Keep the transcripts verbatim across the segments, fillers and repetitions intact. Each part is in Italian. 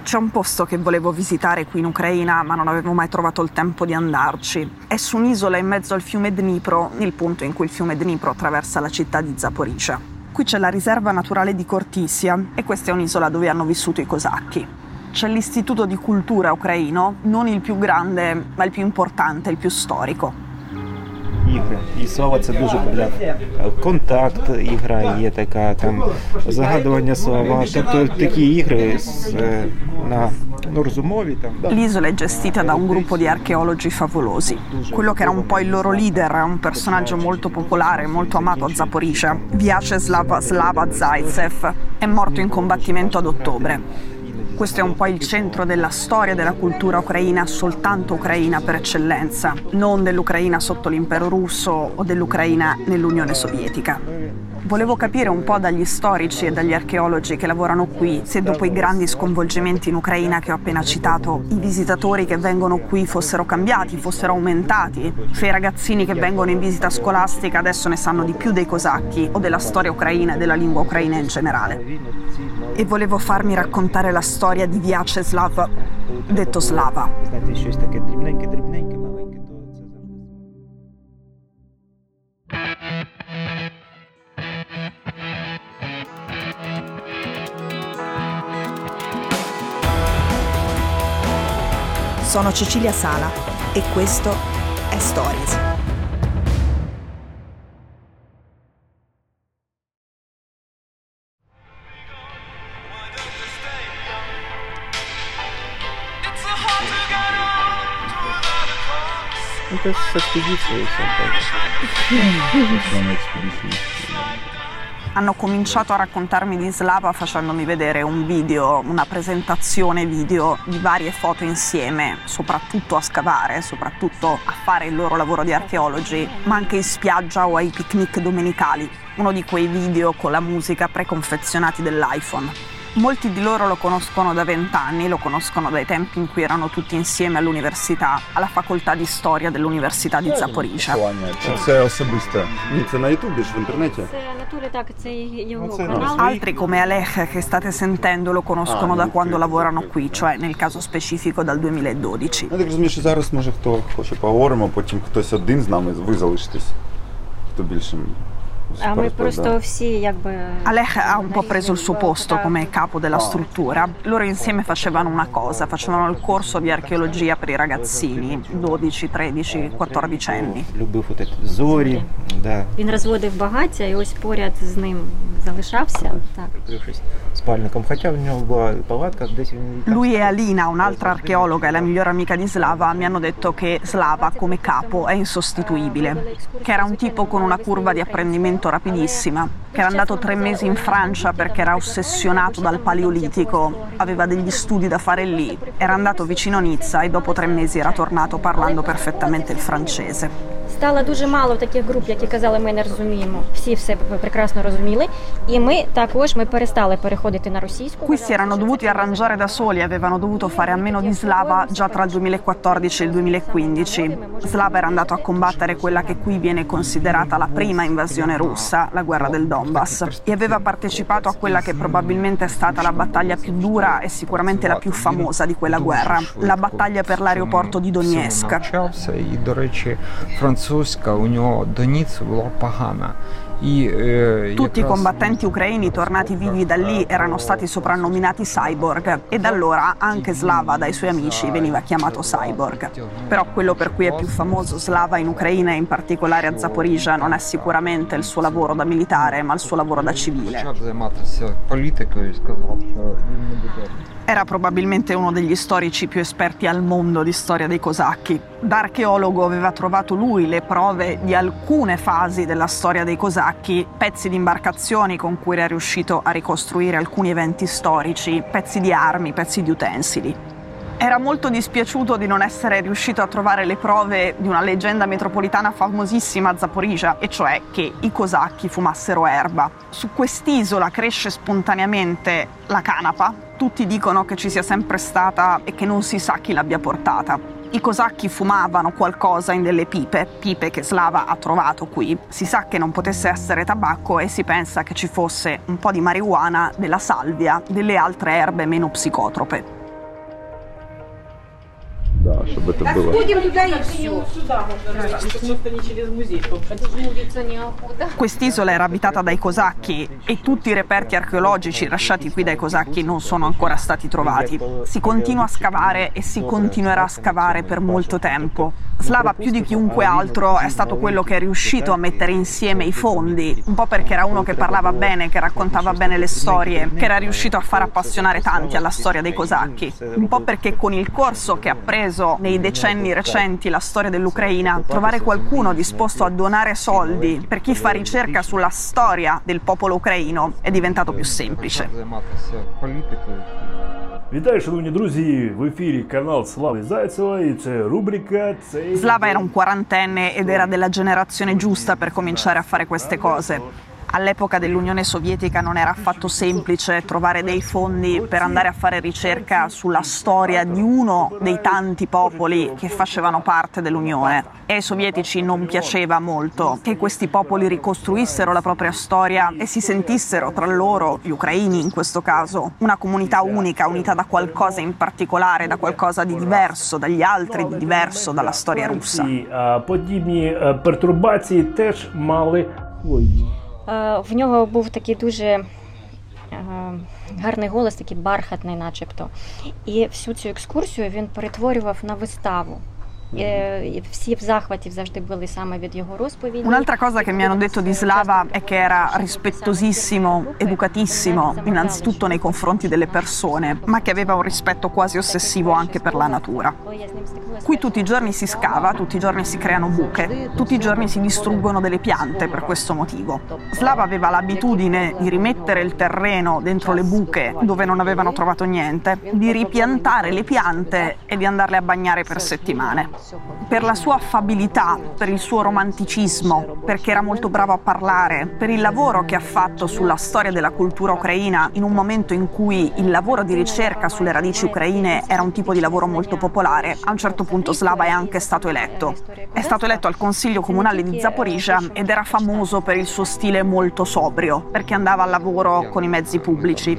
C'è un posto che volevo visitare qui in Ucraina, ma non avevo mai trovato il tempo di andarci. È su un'isola in mezzo al fiume Dnipro, il punto in cui il fiume Dnipro attraversa la città di Zaporizhzhia. Qui c'è la riserva naturale di Khortysia e questa è un'isola dove hanno vissuto i cosacchi. C'è l'istituto di cultura ucraino, non il più grande, ma il più importante, il più storico. Ігри. І слава це дуже популярно. Контакт, ігра є така, там загадування слова. Тобто такі ігри з, на ну, розумові. Там. L'isola è gestita da un gruppo di archeologi favolosi. Quello che era un po' il loro leader, un personaggio molto popolare, molto amato a Zaporizhzhia, Vyacheslav Slava Zaitsev, è morto in combattimento ad ottobre. Questo è un po' il centro della storia della cultura ucraina, soltanto ucraina per eccellenza, non dell'Ucraina sotto l'impero russo o dell'Ucraina nell'Unione Sovietica. Volevo capire un po' dagli storici e dagli archeologi che lavorano qui se dopo i grandi sconvolgimenti in Ucraina che ho appena citato, i visitatori che vengono qui fossero cambiati, fossero aumentati, se i ragazzini che vengono in visita scolastica adesso ne sanno di più dei cosacchi o della storia ucraina e della lingua ucraina in generale. E volevo farmi raccontare la storia di Vyacheslav, detto Slava. Знаєте, щось таке дрібненьке, дрібненьке, маленьке, то це завжди. Sono Cecilia Sala e questo è Stories. Это с экспедицией все Hanno cominciato a raccontarmi di Slava facendomi vedere un video, una presentazione video di varie foto insieme, soprattutto a scavare, soprattutto a fare il loro lavoro di archeologi, ma anche in spiaggia o ai picnic domenicali, uno di quei video con la musica preconfezionati dell'iPhone. Molti di loro lo conoscono da vent'anni, lo conoscono dai tempi in cui erano tutti insieme all'università, alla facoltà di storia dell'Università di Zaporizhzhia. Це особисто. Ні, це на Ютубі ж в інтернеті. Це Анатолій, так, це його канал. Altri come Alech, che state sentendo, lo conoscono da quando lavorano qui, cioè nel caso specifico dal duemiladodici. Я так розумію, що зараз може хто хоче поговоримо, потім хтось один з нами, ви залишитесь. Хто більше. А ми просто всі якби... Alech ha un po' preso il suo posto come capo della struttura. Loro insieme facevano una cosa, facevano il corso di archeologia per i ragazzini, dodici, tredici, quattordici anni. Любив от ці зорі, да. Він розводив багаття і ось поряд з ним залишався. Так. Прикрившись спальником, хоча в нього була палатка, десь він... Lui e Alina, un'altra archeologa e la migliore amica di Slava, mi hanno detto che Slava come capo è insostituibile, che era un tipo con una curva di apprendimento rapidissima, che era andato tre mesi in Francia perché era ossessionato dal Paleolitico, aveva degli studi da fare lì, era andato vicino Nizza e dopo tre mesi era tornato parlando perfettamente il francese. Стало дуже мало таких груп, які казали, ми не розуміємо. Всі все прекрасно розуміли. І ми також ми перестали переходити на російську. Qui si erano dovuti arrangiare da soli, avevano dovuto fare a meno di Slava già tra il duemilaquattordici e il duemilaquindici. Slava era andato a combattere quella che qui viene considerata la prima invasione russa, la guerra del Donbass, e aveva partecipato a quella che probabilmente è stata la battaglia più dura e sicuramente la più famosa di quella guerra, la battaglia per l'aeroporto di Donetsk. І, до речі, французька у нього до Ніцци була погана. І, е, Tutti i combattenti ucraini tornati vivi da lì erano stati soprannominati cyborg e da allora anche Slava dai suoi amici veniva chiamato cyborg. Però quello per cui è più famoso Slava in Ucraina e in particolare a Zaporizhzhia non è sicuramente il suo lavoro da militare, ma il suo lavoro da civile. почав займатися політикою і сказав, що він не буде. Era probabilmente uno degli storici più esperti al mondo di storia dei cosacchi. Da archeologo aveva trovato lui le prove di alcune fasi della storia dei cosacchi, pezzi di imbarcazioni con cui era riuscito a ricostruire alcuni eventi storici, pezzi di armi, pezzi di utensili. Era molto dispiaciuto di non essere riuscito a trovare le prove di una leggenda metropolitana famosissima a Zaporizhzhia, e cioè che i cosacchi fumassero erba. Su quest'isola cresce spontaneamente la canapa. Tutti dicono che ci sia sempre stata e che non si sa chi l'abbia portata. I cosacchi fumavano qualcosa in delle pipe, pipe che Slava ha trovato qui. Si sa che non potesse essere tabacco e si pensa che ci fosse un po' di marijuana, della salvia, delle altre erbe meno psicotrope. Да, чтобы это было. Quest'isola era abitata dai cosacchi e tutti i reperti archeologici lasciati qui dai cosacchi non sono ancora stati trovati. Si continua a scavare e si continuerà a scavare per molto tempo. Slava più di chiunque altro è stato quello che è riuscito a mettere insieme i fondi, un po' perché era uno che parlava bene, che raccontava bene le storie, che era riuscito a far appassionare tanti alla storia dei cosacchi, un po' perché con il corso che ha preso nei decenni recenti la storia dell'Ucraina, trovare qualcuno disposto a donare soldi per chi fa ricerca sulla storia del popolo ucraino è diventato più semplice. Вітаю, шановні друзі! В ефірі канал Слави Зайцева і це рубрика «Цей...» Slava era un quarantenne ed era della generazione giusta per cominciare a fare queste cose. All'epoca dell'Unione Sovietica non era affatto semplice trovare dei fondi per andare a fare ricerca sulla storia di uno dei tanti popoli che facevano parte dell'Unione. E ai sovietici non piaceva molto che questi popoli ricostruissero la propria storia e si sentissero tra loro, gli ucraini in questo caso, una comunità unica, unita da qualcosa in particolare, da qualcosa di diverso dagli altri, di diverso dalla storia russa. Подібні пертурбації теж мали свої. В нього був такий дуже гарний голос, такий бархатний начебто. І всю цю екскурсію він перетворював на виставу. E всі в захваті завжди були саме від його розповіді. Un'altra cosa che mi hanno detto di Slava è che era rispettosissimo, educatissimo, innanzitutto nei confronti delle persone, ma che aveva un rispetto quasi ossessivo anche per la natura. Qui tutti i giorni si scava, tutti i giorni si creano buche, tutti i giorni si distruggono delle piante per questo motivo. Slava aveva l'abitudine di rimettere il terreno dentro le buche dove non avevano trovato niente, di ripiantare le piante e di andarle a bagnare per settimane. Per la sua affabilità, per il suo romanticismo, perché era molto bravo a parlare, per il lavoro che ha fatto sulla storia della cultura ucraina in un momento in cui il lavoro di ricerca sulle radici ucraine era un tipo di lavoro molto popolare, a un certo punto Slava è anche stato eletto. È stato eletto al Consiglio Comunale di Zaporizhzhia ed era famoso per il suo stile molto sobrio, perché andava al lavoro con i mezzi pubblici.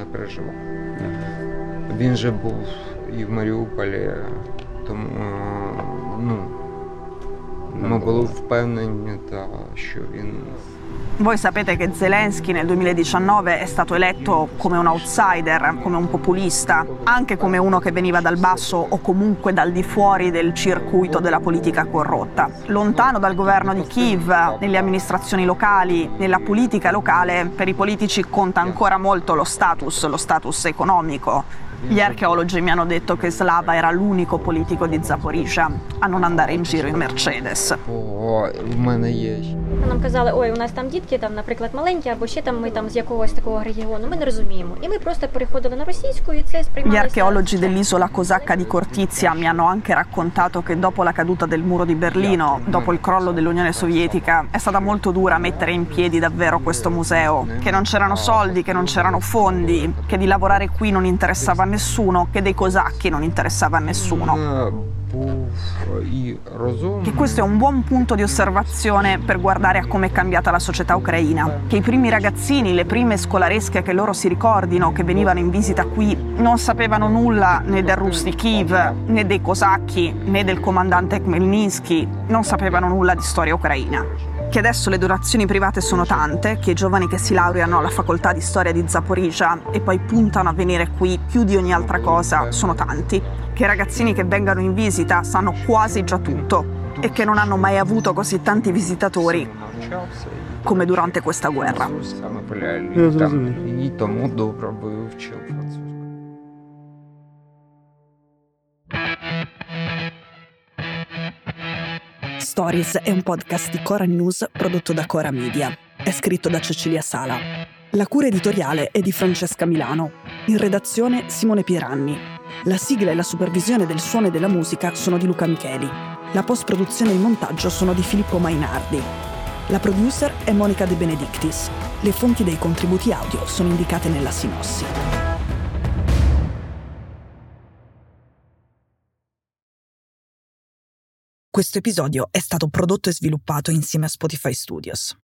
Він же був і в Маріуполі, тому ну, ми були впевнені, що він... Voi sapete che Zelensky nel duemiladiciannove è stato eletto come un outsider, come un populista, anche come uno che veniva dal basso o comunque dal di fuori del circuito della politica corrotta. Lontano dal governo di Kiev, nelle amministrazioni locali, nella politica locale, per i politici conta ancora molto lo status, lo status economico. Gli archeologi mi hanno detto che Slava era l'unico politico di Zaporizhzhia a non andare in giro in Mercedes. О, в мене є. Нам казали, ой, у нас там дітки, там, наприклад, маленькі, або ще там ми там з якогось такого регіону, ми не розуміємо. І ми просто переходили на російську, і це сприймалося... Gli archeologi dell'isola cosacca di Cortizia mi hanno anche raccontato che dopo la caduta del muro di Berlino, dopo il crollo dell'Unione Sovietica, è stata molto dura mettere in piedi davvero questo museo, che non c'erano soldi, che non c'erano fondi, che di lavorare qui non interessava a nessuno, che dei cosacchi non interessava a nessuno. Che questo è un buon punto di osservazione per guardare a come è cambiata la società ucraina, che i primi ragazzini, le prime scolaresche che loro si ricordino, che venivano in visita qui, non sapevano nulla né del Rus di Kiev, né dei cosacchi, né del comandante Khmelnytsky, non sapevano nulla di storia ucraina. Che adesso le donazioni private sono tante, che i giovani che si laureano alla facoltà di storia di Zaporizhzhia e poi puntano a venire qui più di ogni altra cosa sono tanti, che i ragazzini che vengono in visita sanno quasi già tutto e che non hanno mai avuto così tanti visitatori come durante questa guerra. І тому добре вивчив французьку. Stories è un podcast di Cora News prodotto da Cora Media. È scritto da Cecilia Sala. La cura editoriale è di Francesca Milano. In redazione Simone Pieranni. La sigla e la supervisione del suono e della musica sono di Luca Micheli. La post-produzione e il montaggio sono di Filippo Mainardi. La producer è Monica De Benedictis. Le fonti dei contributi audio sono indicate nella sinossi. Questo episodio è stato prodotto e sviluppato insieme a Spotify Studios.